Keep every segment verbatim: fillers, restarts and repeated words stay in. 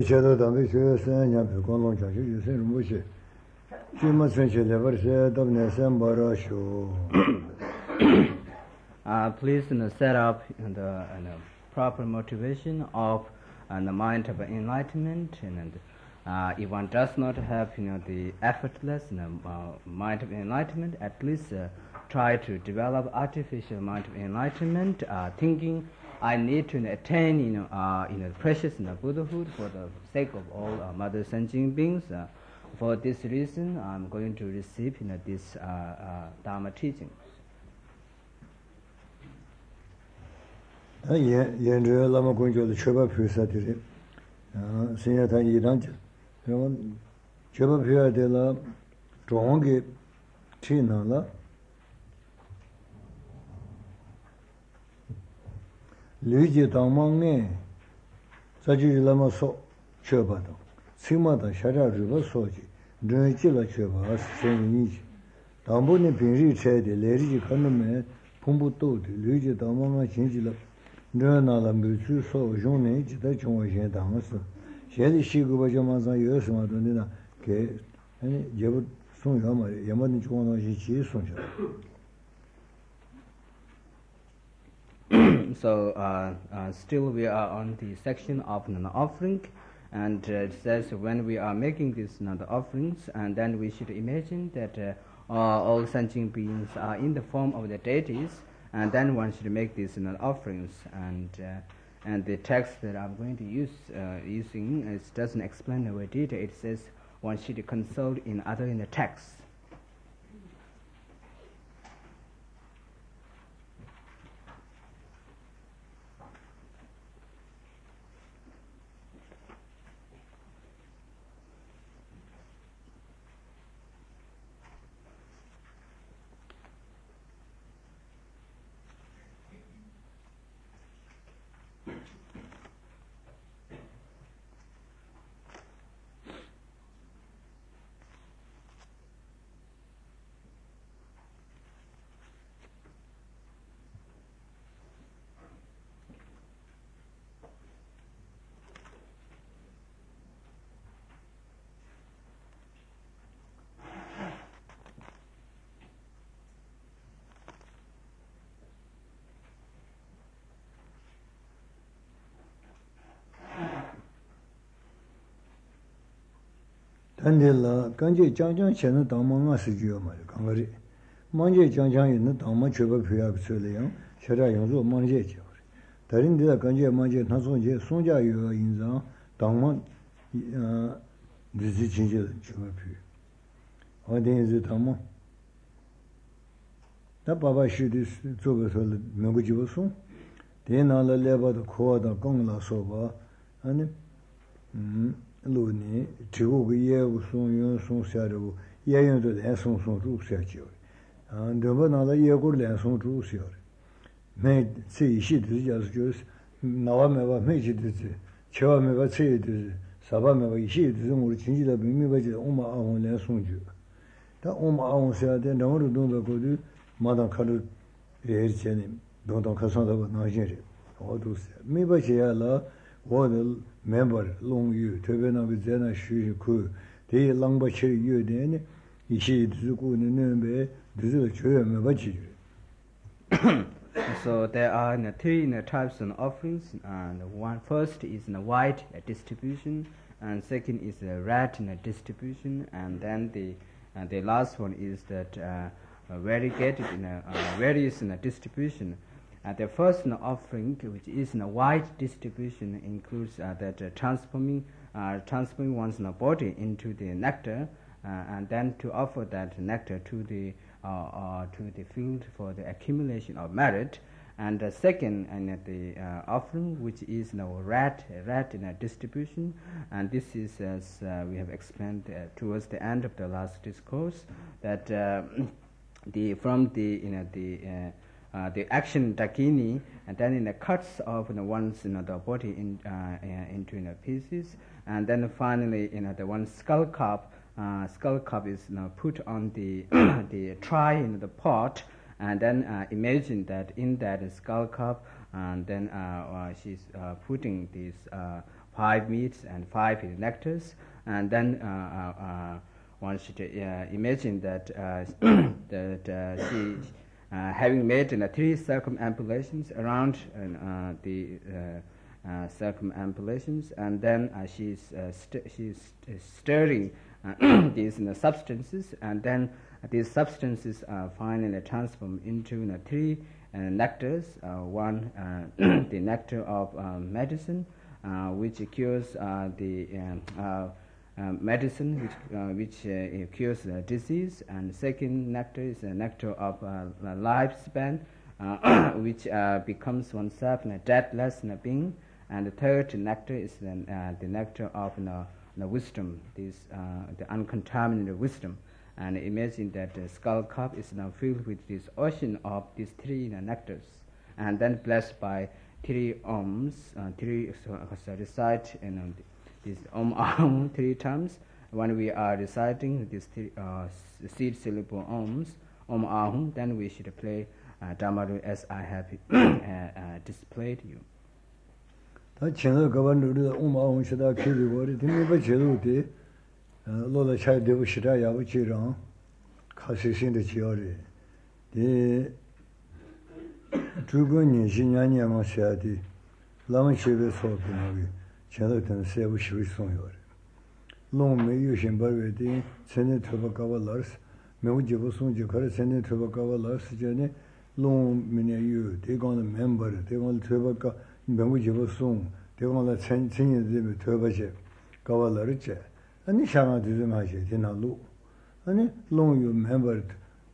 shadow dambe shue sen nyam pe kon long cha ju sen ru shi ju ma sen che le bar se dab ne sen bara shu. Uh, please you know, set up you know, the you know, proper motivation of uh, the mind of enlightenment, and uh, if one does not have you know the effortless you know, uh, mind of enlightenment, at least uh, try to develop artificial mind of enlightenment, uh, thinking I need to attain you know uh, you know precious you know, Buddhahood for the sake of all uh, mother sentient beings. Uh, for this reason, I'm going to receive you know this uh, uh, Dharma teaching. yen yen zhe lama gong jiu de cheba pyu sa de re ah sen ya ta yi dang ji yo cheba pyu de la zhong ge chi na la lu ji dang mang ne sa ji lama so cheba da sima da sha ja ru ba so ji zhe ji la cheba sen ni ji dang bu ne bin ri che de le ri ji kan me pong bu do de lu ji dang mang ma xin ji la nē nā lā mū chū sō yōng nē jī tā chōng wā xiān tāng wā sō xiān dī shī gu bā chō mā sā yō sō mā tō nē nā kē yā bā sōng yā mā rē yā mā nī chōng wā xī chī sōng chā. So uh, uh, still we are on the section of an offering, and uh, it says when we are making these you know, the offerings, and then we should imagine that uh, uh, all sentient beings are in the form of the deities, and then one should make these you know, offerings, and uh, and the text that I'm going to use uh, using it doesn't explain the word detail. It says one should consult in other in the text. 단딜라 간제 장장 chen dang ma nga si ju ma gang ri mang je jang jang yin dang ma chue ba pyu ya su le yang sha ra yang zu mang je ji darin de gang je mang je na song je song jia yu yin zang dang ma euh de ji jin je chue ba pyu wa de zi dang ma da ba ba shi de zu ba so le me gu ji bu song de na la le ba de ko da gong la so ba ani 음 lu ni chigu ge ye wu song yun song xia ru ye yun de lian song song zhu xia jiu ah de ba na la ye gu lian song zhu xia me ci xi de jia su na wa me ba me ji de ji che wa me ba ci de sa ba me ba xi de zong ru qin ji de bi mi ba ji o ma a won lian song ju da o ma a won xia de na ru dong de go du ma da ka ru ye ji ni dong dong ka song de ba na jin ri o du xia mi ba xia la wo de member long yu tebe na bi zena shu ku de lang ba chi yu de ne yi shi zu gu ne ne be de zu chue me ba chi. So there are you know, three you know, types of offerings, and one first is in you know, white uh, distribution, and second is the uh, red you know, distribution, and then the uh, the last one is that uh, uh, variegated you know, uh, various you know, distribution. Uh, the first you know, offering, which is in a white distribution, includes uh, that uh, transforming uh, transforming one's you know, body into the nectar, uh, and then to offer that nectar to the uh, uh, to the field for the accumulation of merit. And the second, and uh, the uh, offering, which is you know, red red in a distribution, and this is as uh, we have explained uh, towards the end of the last discourse, that uh, the from the you know the uh, Uh, the action dakini, and then in the cuts of you know, one's you know, the body in, uh, uh, into you know, pieces, and then finally you know, the one skull cup uh, skull cup is you know, put on the the tray in the pot, and then uh, imagine that in that skull cup, and then uh, uh, she's uh, putting this uh, five meats and five nectars, and then uh, uh, uh, one should uh, imagine that uh, that uh, she, uh, having made uh, three circumambulations around uh, the uh, uh, circumambulations, and then uh, she's uh, st- she's stirring uh, these uh, substances, and then these substances are finally transformed into uh, three uh, nectars. Uh, one, uh, the nectar of uh, medicine, uh, which cures uh, the um, uh, uh, medicine which uh, which uh, cures uh, disease, and second nectar is a nectar of uh, lifespan, uh, which uh, becomes oneself a deathless being, and the third nectar is the, uh, the nectar of uh, the wisdom, this uh, the uncontaminated wisdom. And imagine that the skull cup is now filled with this ocean of these three you know, nectars, and then blessed by three Oms, uh, three so, so recite you know, this Om Ahum three times. When we are reciting these three uh, seed syllable Oms, Om Ahum, then we should play uh, Dhammaru as I have uh, uh, displayed you. lola chai devu shira yabu chi rang kasi sin de chiori de zhugu ni xin yan yan ma xia di lam xie be so bi na bi chen de ten se bu shi song yo long me yu xin ba we di chen de tu ba ga wa lars me wu ji bu song ji kare chen de tu ba ga wa lars je ne long me ne yu de gong de member de gong tu ba ga me wu ji bu song de gong la chen chen ye de tu ba je ga wa lars je 아니 샤마드즈 마시 디나루 아니 롱유 멤버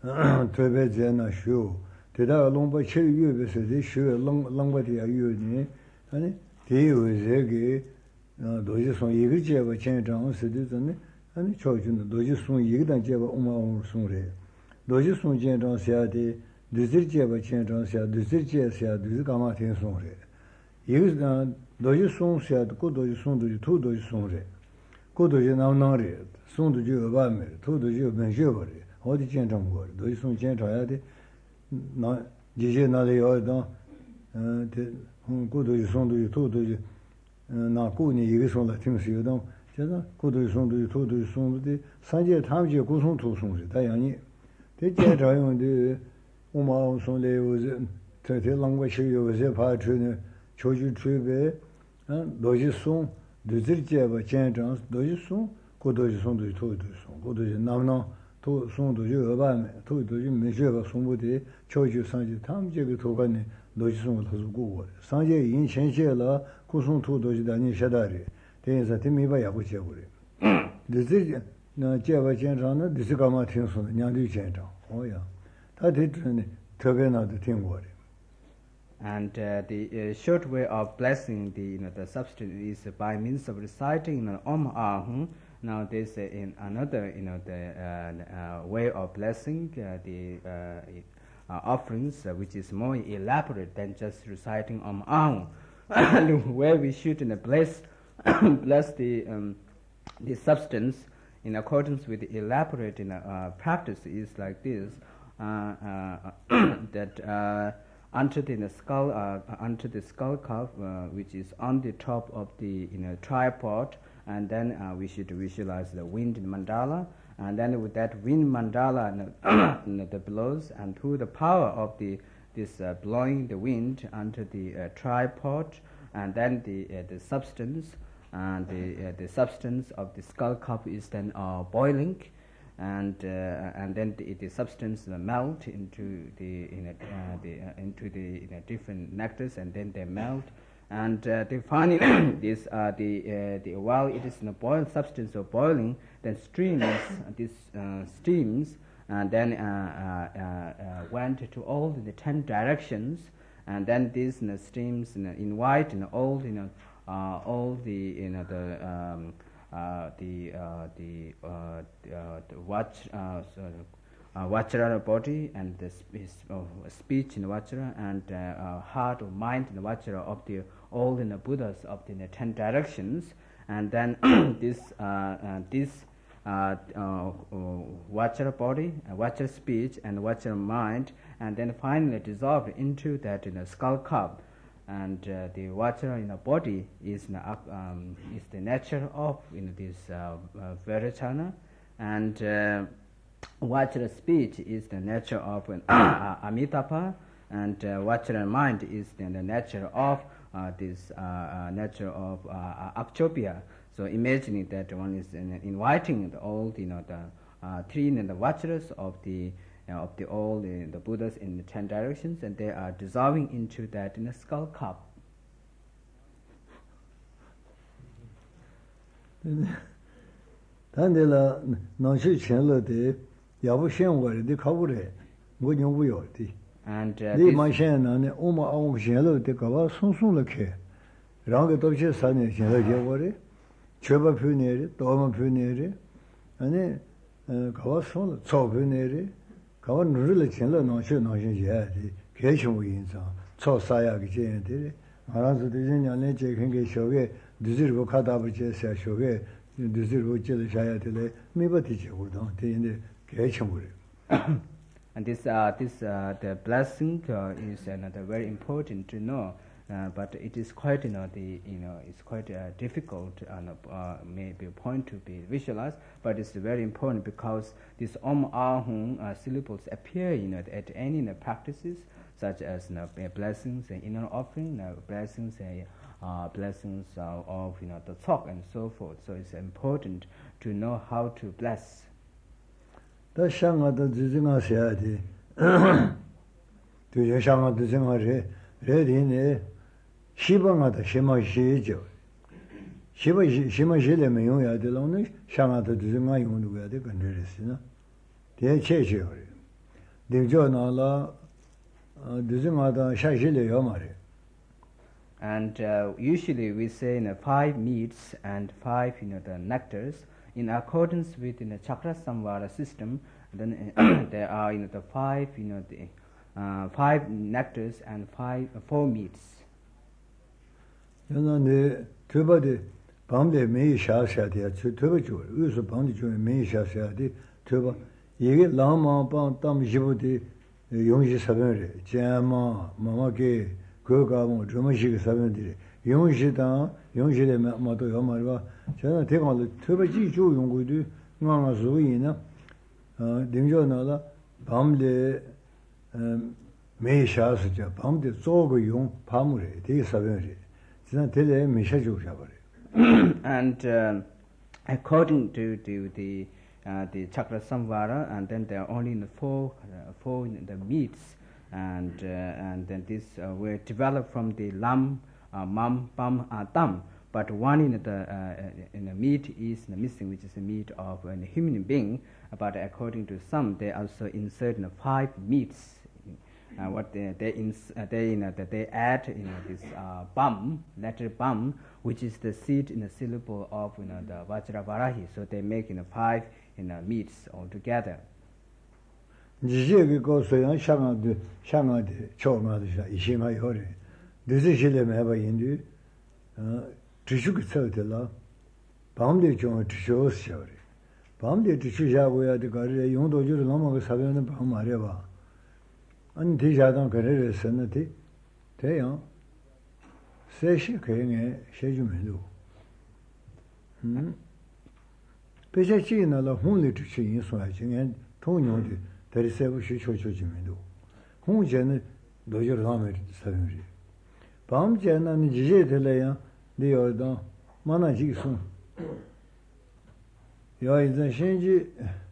트베제나 쇼 대다 롱바 체유베세데 쇼 롱롱바디야 유니 아니 대유제게 도지송 이거제바 전장 스디즈네 아니 초준도 도지송 이거단 제바 오마오 송레 도지송 전장 세야데 드즈제바 전장 세야 드즈제세야 드즈가마 텐송레 이거 도지송 세야도 도지송 도지 투 도지송레 고도지 나오나리 송도지 어바메 토도지 benjebore 어디 전정거 도지 송 전자야데 나 지제 나리 어다 어데 고도지 송도지 토도지 나 고니 이게 송다 팀스요도 제가 고도지 송도지 토도지 송도지 산제 탐지 고송 토송지 다양이 대제 자용데 오마오 송레오즈 대대 랑과시 요제 파트네 조지 트베 도지 송 드즈르제바 젠장 도지송 고도지송 도지 토도지송 고도지 남나 도 송도지 어바메 토도지 메제바 송부디 초지 상지 탐제가 도가네 도지송을 하고 상제 인천시라 고송 토도지 다니 샤다리 대에서 팀이바 야고 제고리 드즈르 나 제바 젠장은 드즈가마 팅송 냥디 젠장 오야 다 됐네 더베나도 팅고리. And uh, the uh, short way of blessing the you know the substance is by means of reciting you know, Om Ahum. Now there's uh, in another you know the uh, uh, way of blessing uh, the uh, uh, offerings uh, which is more elaborate than just reciting Om Ahum, where we should you know, bless bless the um, the substance in accordance with the elaborate you know, uh, practice is like this uh, uh, that. Uh, Onto the skull, uh, onto the skull cup, uh, which is on the top of the you know tripod, and then uh, we should visualize the wind mandala, and then with that wind mandala, you know, the blows, and through the power of the this uh, blowing the wind onto the uh, tripod, and then the uh, the substance, and the uh, the substance of the skull cup is then uh, boiling. And uh, and then the, the substance uh, melt into the in a, uh, the uh, into the in a different nectars, and then they melt, and uh, they finally this uh, the uh, the while it is in a boiled substance or boiling, then streams this uh, steams, and then uh, uh, uh, went to all the ten directions, and then these you know, streams you know, invite you know, all you know uh, all the you know the um, Uh, the uh, the, uh, the, uh, the watch uh, so, uh, Vajra body and the sp- uh, speech in Vajra and uh, uh, heart or mind in Vajra of the all in the Buddhas of the, the ten directions, and then this uh, uh, this uh, uh, Vajra body, uh, Vajra speech and Vajra mind, and then finally dissolved into that in you know, skull cup. and uh, the Vajra in the body is the, um, is the nature of you know, this uh, uh, Vairocana, and uh, Vajra speech is the nature of uh, Amitabha, and uh, Vajra mind is the, the nature of uh, this uh, uh, nature of uh, Akshobhya. So imagining that one is uh, inviting the all you know the uh, three and the Vajras of the uh, of the all the, the Buddhas in the ten directions, and they are dissolving into that in a skull cup. Tandela nashi chenle de yabu shen wari de kabure ngo nyongu yo di. And uh, Li ma shen na ne oma aung chenle de kawa sung sung le ke. Rang ge dobche sa ne chenle je wari. Chöba pyu neri, doma pyu neri. Ane kawa sung tso pyu neri. Kawa nuru le chenle nashi nashi je di. Ke shungu yin sa. Tso saya ge jen di. Maransu de jen nyane je kenge shoge duzir go kadabu je sa shoge And this, uh, this, uh, the blessing uh, is another very important to know, uh, but it is quite, you know, the, you know, it's quite uh, difficult, and uh, maybe a point to be visualized, but it's very important because these Om Ahum uh, syllables appear, you know, at any you know, practices such as you know, blessings and inner offering, you know, blessings and Uh, blessings uh, of you know the talk and so forth. So it's important to know how to bless. The shanga the jizinga siadi. The shanga the jizinga re ready ne shibanga the shima shijo. Shiba shima shile me yong ya de long ne shanga the jizinga yong du ya de kan re sina. De che che ore. De jo na la jizinga da sha shile yo ma re. And uh, usually we say you know, five meats and five you know the nectars in accordance with you know, chakra samvara system. Then uh, there are you know the five you know the uh, five nectars and five uh, four meats. You know the tuba de bamde me sha sha de tuba ju usu bamde ju me sha sha de tuba yege lama ba tam jibu de yongji saben re jama mama ke 그거가 주무시게 사람들이 용시다 용시에 마도 요마가 저는 대강을 특별히 주 연구도 나가 소이나 어 등조나라 밤에 매샤스죠 밤에 쪼고 용 밤에 되게 사람들이 진짜 되게 매샤 주셔 버려. And uh, according to, to the uh, the chakra samvara, and then there are only the four uh, four the meats. And uh, and then this uh, were developed from the lam, uh, mam, pam, uh, tam. But one in the uh, in the meat is the missing, which is the meat of a human being. But according to some, they also insert you know, five meats. Uh, what they they ins uh, they you know that they add you know this uh, bam, letter bam, which is the seed in the syllable of you know the Vajravarahi. So they make you know five you know meats altogether. 지지게 고소양 샤마드 샤마드 초마드샤 이시마 요레 드지실레 메바 인디 어 지슈게 써들라 밤데 좀 지쇼스요레 밤데 지슈샤고야 데 가르 용도주를 넘어가 사변은 밤 말해 봐 아니 대자당 그래를 썼는데 돼요 세시 그행에 셰주면도 음 배제지나라 혼리 지슈 인소하지는 통용도 대리세부 시초초지면도 홍제는 노저를 하면 사람들이 밤제는 지제 될래야 네어도 만나지 있어 야 이제 신지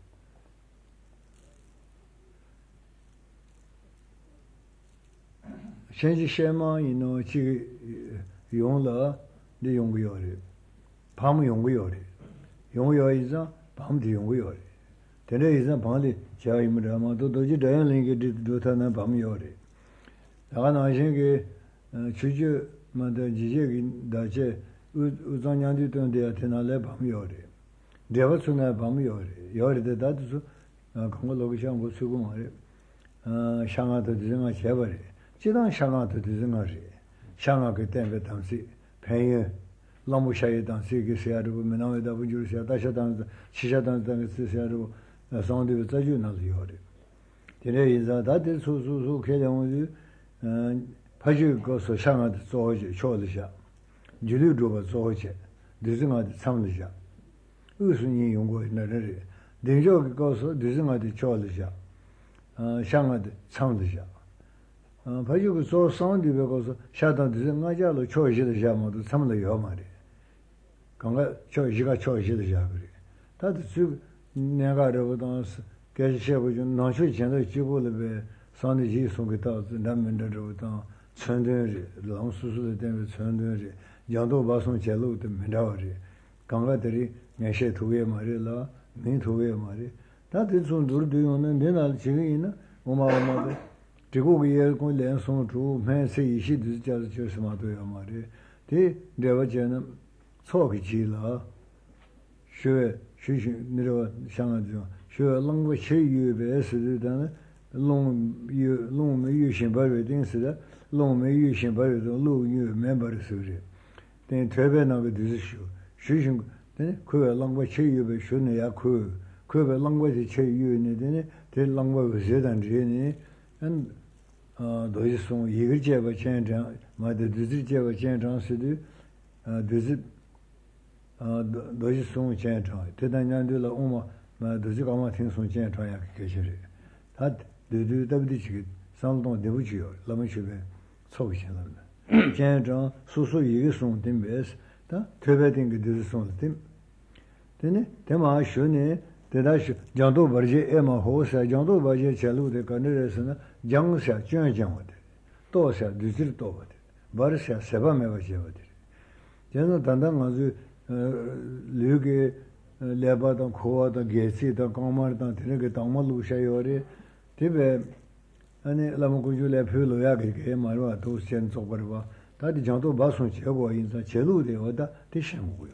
신지 쉐마 이노 지 용了네 용구요리 밤 용구요리 용구요이자 밤도 용구요리 Today is a body, Chaimrama, to do the Dotana Bamiori. I think Chuju Mother Jig Dache Uzanyandi to the Atenale Bamiori. There was soon a Bamiori. Yori the Datu Kongologishan was Sugumari, Shanga to Dizima Chevari, Chidan Shanga to Dizimari, Shanga Ketembe Tansi, Pay. Lamushay dansi ke siaru menawe da bujur sia dasha dan shisha dan dan ke siaru sound de zaju na yore tene iza da de su su su ke de mu 파지 거서 상한테 조지 초르샤 줄유조가 조지 드승한테 참르샤 의순이 용고 나를 대저기 거서 드승한테 초르샤 어 상한테 참르샤 어 파지 거서 상한테 거서 샤다 드승하자로 초지르샤 모두 참르요 말이 강가 초지가 초지르샤 그래 다들 주 내가 그러거든 개시하고 좀 나셔 전에 지고를 산지 송기다 남면들로도 천대리 랑수수의 때문에 천대리 양도 바송 제로도 면다리 강가들이 내셔 두개 말이라 민 두개 말이 다들 좀 둘도는 내날 지금이나 오마오마도 지고기에 그 렌송 주 매세 이시도 자주 저스마도요 말이 대 내가 저는 초기 지라 쉐 쉐쉐 내려 상하죠 쉐 랑고 쉐유베스르다는 long yu long me yu shin ba yu ding si da long me yu shin ba yu de lu yu member su ri den twebe na ge de shu shu shin de ku lang ba che yu be shu ne ya ku ku be lang ba che yu ne de de lang ba ge je dan je ne an a do yi song yi ge je ba chen zhang ma de de zhi je ba chen zhang si de a de zhi a do yi song chen zhang de dan yan de la o ma ma de zhi ga ma ting song chen zhang ya ge je ri 다 되도 답디지 상동 되부지요 라면시베 소비신다 제정 수수 이게 송된 베스 다 퇴배된 게 되서 송된 되네 대마 쉬네 대다시 장도 버지 에마 호사 장도 버지 첼루데 가네레스나 장사 쭝쭝거든 또사 뒤질 또거든 버르샤 세바메가 제거든 제가 단단 아주 류게 레바던 코와던 게시던 까마르던 되게 당말루샤요리 티베 아니 라모고줄레 표로야 그게 말와 도시엔 쪽버바 다디 장도 바송 제고 인사 제루데 오다 대신고요.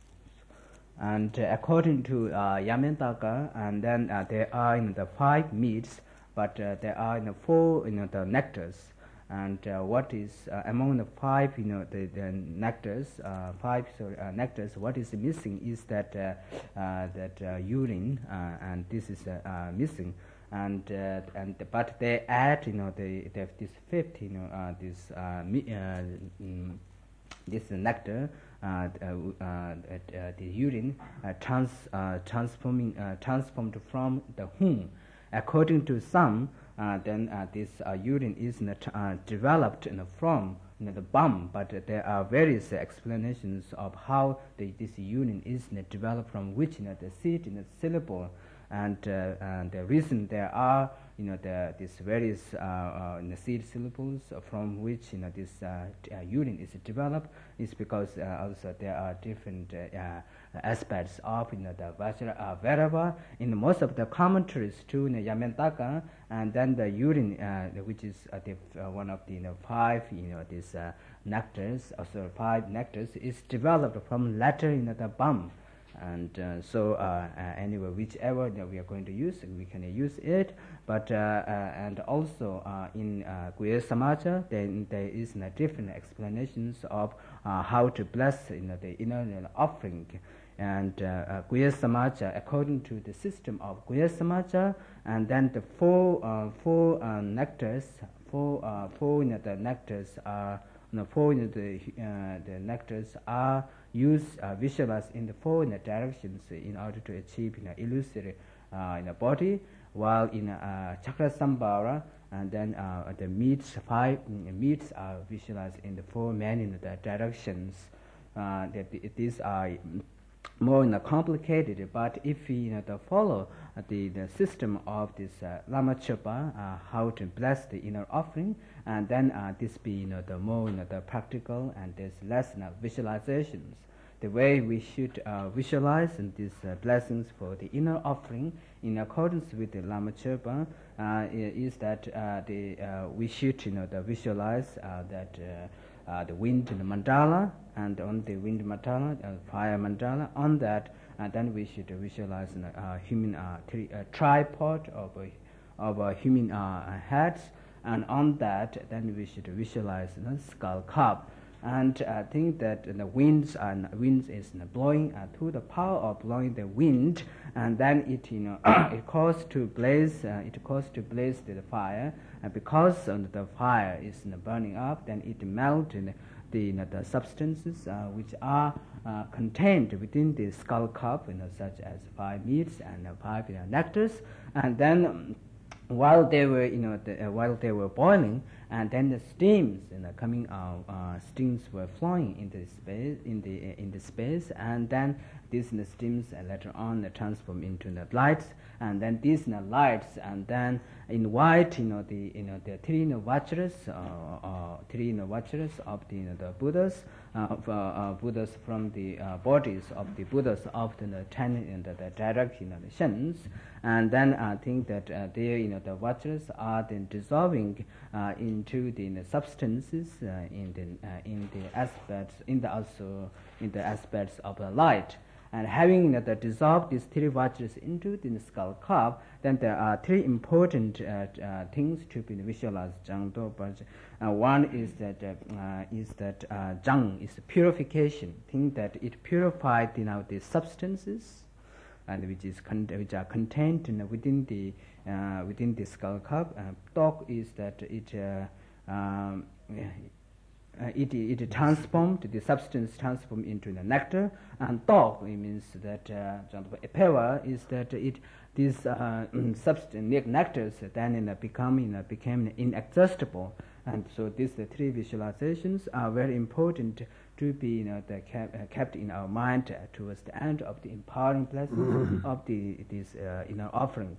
And uh, according to uh, Yamantaka, and then uh, there are in the five meats, but uh, there are in the four you know the nectars. And uh, what is uh, among the five you know the, the nectars, uh, five sorry, uh, nectars, what is missing is that uh, uh, that uh, urine, uh, and this is uh, uh, missing. And uh, and but they add you know they, they have this fifth you know uh, this uh, mi uh, mm, this nectar uh, uh, uh, uh, the urine uh, trans uh, transforming uh, transformed from the womb. According to some, uh, then uh, this uh, urine is not, uh, developed in the from you know, the bum, but uh, there are various uh, explanations of how the, this urine is uh, developed from which you know the seed in the syllable. And, uh, and the reason there are, you know, the, these various uh, uh, in the seed syllables from which, you know, this uh, t- uh, urine is developed is because uh, also there are different uh, uh, aspects of, you know, the Vajra, uh, Vairava. In most of the commentaries to you know, Yamantaka, and then the urine, uh, which is uh, the, uh, one of the you know, five, you know, these uh, nectars, also five nectars, is developed from latter, you know, the bum. And uh, so uh, uh, anyway, whichever that we are going to use, we can use it. But uh, uh, and also uh, in uh, Guya Samaja, then there is uh, different explanations of uh, how to bless you know, the inner you know, offering. And uh, uh, Guya Samaja, according to the system of Guya Samaja, and then the four uh, four uh, nectars, four uh, four you know, the nectars are you know, four you know, the uh, the nectars are use uh, visualize in the four in the directions in order to achieve you know, illusory uh, in the body, while in uh, Chakra Sambhara, and then uh, the meats five mm, meats are visualized in the four many in the directions. Uh, that these are more you know, complicated, but if we you know, the follow uh, the, the system of this uh, Lama Chopa, uh, how to bless the inner offering, and then uh, this be you know, the more you know, the practical, and there's less you know, visualizations. The way we should uh, visualize in these uh, blessings for the inner offering in accordance with the Lama Chopa uh, is that uh, the, uh, we should you know, the visualize uh, that uh, Uh, the wind in the mandala, and on the wind mandala, uh, fire mandala, on that, and then we should visualize a uh, human uh, tri- uh, tripod of a, of a human uh, heads, and on that, then we should visualize the skull cup. And I think that the winds and winds is blowing uh, through the power of blowing the wind, and then it you know it causes to blaze uh, it causes to blaze the fire, and because uh, the fire is you know, burning up, then it melts you know, the you know, the substances uh, which are uh, contained within the skull cup, you know, such as five meats and uh, five you know, nectars, and then. Um, While they were, you know, the, uh, while they were boiling, and then the steams, you know, coming out, uh, steams were flowing into space, in the uh, in the space, and then these you know, steams uh, later on uh, transform into the lights, and then these you know, lights, and then in white, you know, the you know the three you know, Vajras, uh, uh, three you know, Vajras of the you know, the Buddhas, uh, of, uh, uh, Buddhas from the uh, bodies of the Buddhas of the you know, ten in the, the direct you know, the shins. And then I think that uh, there, you know, the Vajras are then dissolving uh, into the you know, substances uh, in the uh, in the aspects in the also in the aspects of the light. And having you know, the dissolved these three Vajras into the skull cup, then there are three important uh, uh, things to be visualized. But uh, one is that uh, uh, is that uh, Zhang is purification. Think that it purified you know, the substances. And which is con which are contained you know, within the uh, within the skull cup. Uh, Tok is that it uh, um, uh, it it transformed the substance transformed into the nectar, and Tok it means that uh, Epewa is that it these uh, substance nectars then you know, become you know, became inexhaustible, and so these the three visualizations are very important to be you know, the kept, uh, kept in our mind uh, towards the end of the empowering blessings of the this uh, you know, offering.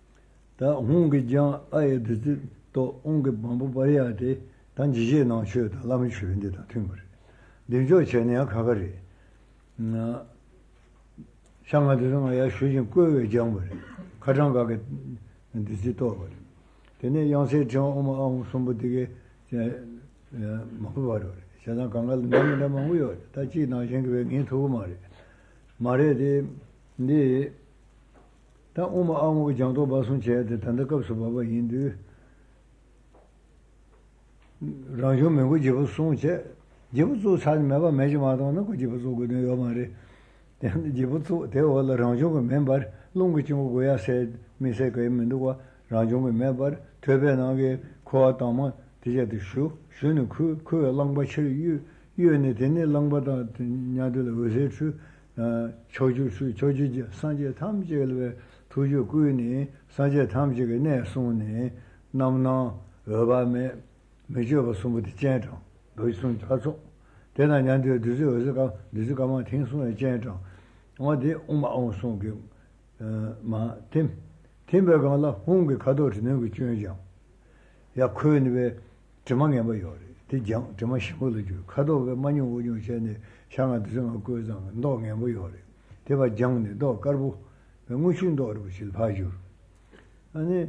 Da hungi jang aye de to hungi bambu bariya de dan jije na shö da lam shö de da tümür. De jo chene ya khagari. Na shanga de ma ya shö jin gui wei jang bari. Khajang ga ge de ji to bari. De ne yang se jang o ma ang sum bu de ge ma bu bari. Shadang kangal nami nama huyo, tachi na shengiwe ngin thugu maare. Maare de, de, ta uma amu jangdo basun che, de tanda kapsu baba hindu, rangyo mengu jibu sun che, jibu zu sadi meba meji maadang na ku jibu zu gu yo maare. Jibu zu, de wala rangyo gu membar, lungu chingu goya se, mi se kaya mendu kwa, rangyo gu membar, tebe nange kuwa tama, tija de shu, shu ni ku, ku langba chiri yu, yu ni teni langba da nyadu la wese chu, choju chu, choju ji, sanje tam ji galwe, tuju ku ni, sanje tam ji ga ne sung ni, nam na, eba me, me jo ba sung bu di jen zhang, doi sung cha sung. Tena nyadu du zi wese ka, du zi ka ma ting sung ya jen zhang. Wa di uma ong sung ki, ma tim, tim be ka la hung ki kado chi nengu jun jang. Ya ku ni be, zhima ba yore, di jiang, zhima shimu lu ju, kado we manyu wu ju xe ne, shanga di zhanga gui zhanga, ndo ngen bu yore, di ba jiang ne, do karbu, we ngu shun do rupu shil pa jur. Ani,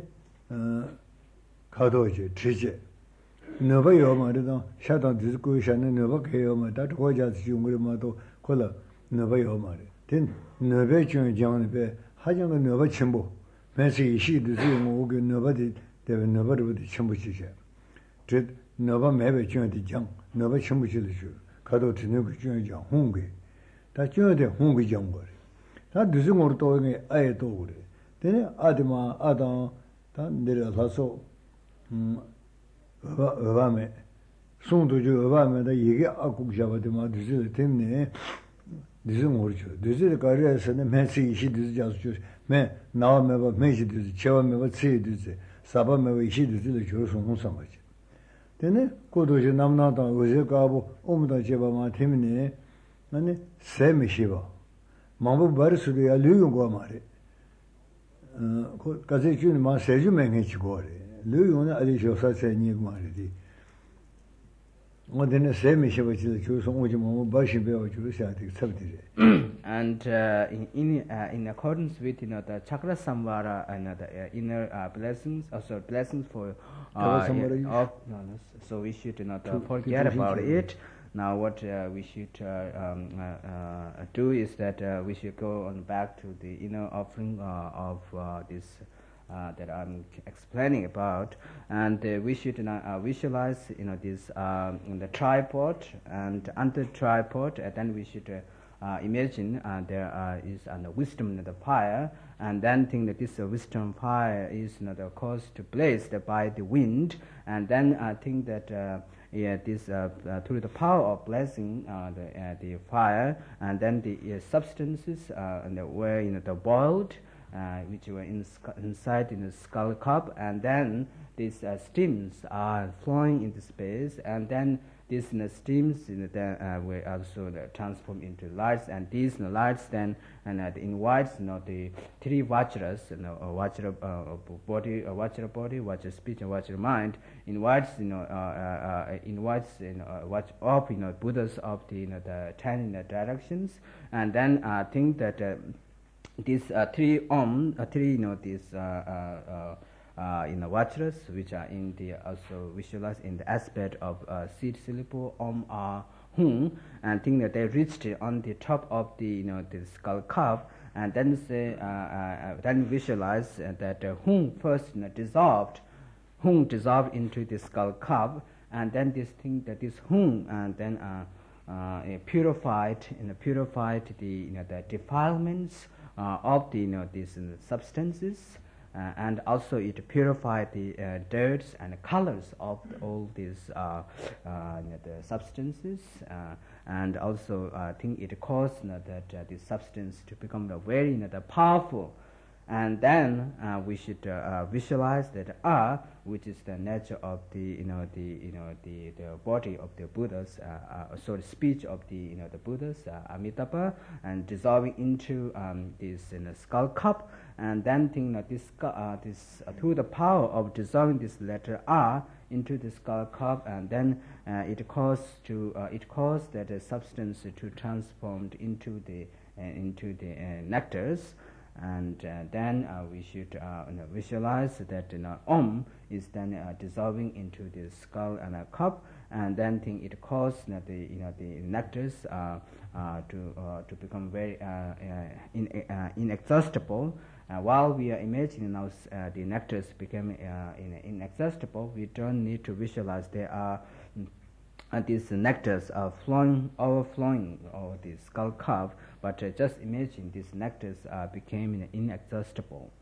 kado je, chi je, nyoba yo ma ri dang, sha dang di zi gui sha ne, nyoba ke yo ma, da zhuwa jia zi yung ri ma do, ko la, nyoba yo ma ri. Ten, nyoba jiang jiang ne be, ha jiang ne nyoba chimbo, men si yi shi di zi yung wu ge nyoba di, dewe nyoba rupu di chimbo chi xe. 너바 매베 중요한 장 너바 전부실을 줘 가도 되는 그 중요한 장 홍게 다 중요한데 홍게 장 거래 다 늦은 거로 또 이게 아예 또 그래 되네 아드마 아다 다 내려가서 음 어바메 송도 주 어바메다 이게 아국 잡아도마 늦을 때문에 늦은 거로 줘 늦을 거래에서는 매시 이시 늦을 자서 매 나와메바 매시 늦을 채와메바 치 늦을 사바메바 이시 늦을 줘서 홍상 거지 되네 고도지 남나다 어제 가보 오무다 제바마 때문에 아니 세미시바 마부 버스도 야 류용고 말이 어 가제 준 마 세주 맹해지고 그래 류용은 아리 조사세 니 말이지 뭐되네 세미시바 지 조서 오지 뭐 바시 배워 주셔야 돼 섭디래 and uh, in in, uh, in accordance with you know the chakra samvara and uh, the uh, inner uh, blessings also blessings for uh, yeah, of no, no, so we should you know to forget about it. Now what uh, we should uh, um, uh, uh, do is that uh, we should go on back to the inner offering uh, of uh, this uh, that I'm explaining about, and uh, we should uh, visualize, you know, this um, in the tripod, and under tripod, and then we should uh, uh, imagine uh, there uh, is a uh, wisdom in the fire, and then think that this uh, wisdom fire is, you know, the cause to blazed by the wind, and then I uh, think that. Uh, Yeah, this uh, uh, through the power of blessing uh, the uh, the fire, and then the uh, substances uh, and the, were, you know, the boiled, uh, which were in inside in the skull cup, and then these uh, steams are flowing into space, and then these, you know, steams, you know, then, uh, were also uh, transformed into lights, and these, you know, lights then and uh, invites, you know, the three vajras, you know, uh, vajra uh, body, uh, vajra body, vajra speech, and vajra mind, invites, you know, uh, uh, uh, invites, you know, uh, watch of, you know, Buddhas of the, you know, the ten, you know, directions, and then I uh, think that uh, these uh, three om, uh, three, you know, these uh, uh, uh, Uh, in the vajras, which are in the also visualized in the aspect of uh, seed syllable om a hum, and think that they reached on the top of the, you know, the skull cup, and then say uh, uh, then visualize uh, that uh, hum first, you know, dissolved, hum dissolved into the skull cup, and then this thing that this hum and then uh, uh, purified, you know, purified the, you know, the defilements uh, of the, you know, these uh, substances. Uh, and also it purified the uh, dirts and colors of the, all these uh, uh, you know, the substances, uh, and also I uh, think it caused, you know, that uh, the substance to become uh, very, you know, the powerful. And then uh, we should uh, uh, visualize that A, which is the nature of the, you know, the, you know, the, the body of the Buddhas, uh, uh, sort of speech of the, you know, the Buddhas, uh, Amitabha, and dissolving into um, this, you know, skull cup, and then think that this, uh, this uh, through the power of dissolving this letter R into the skull cup, and then uh, it caused to uh, it caused that uh, substance to transformed into the uh, into the uh, nectars. And uh, then uh, we should uh, you know, visualize that, you know, om is then uh, dissolving into the skull and a cup, and then think it causes, you know, the, you know, the nectars uh, uh, to uh, to become very uh, uh, in, uh, inexhaustible. Uh, while we are imagining now uh, the nectars become uh, in, inexhaustible, we don't need to visualize there are uh, these nectars are flowing, overflowing over the skull cup, but uh, just imagine these nectars uh, became inexhaustible.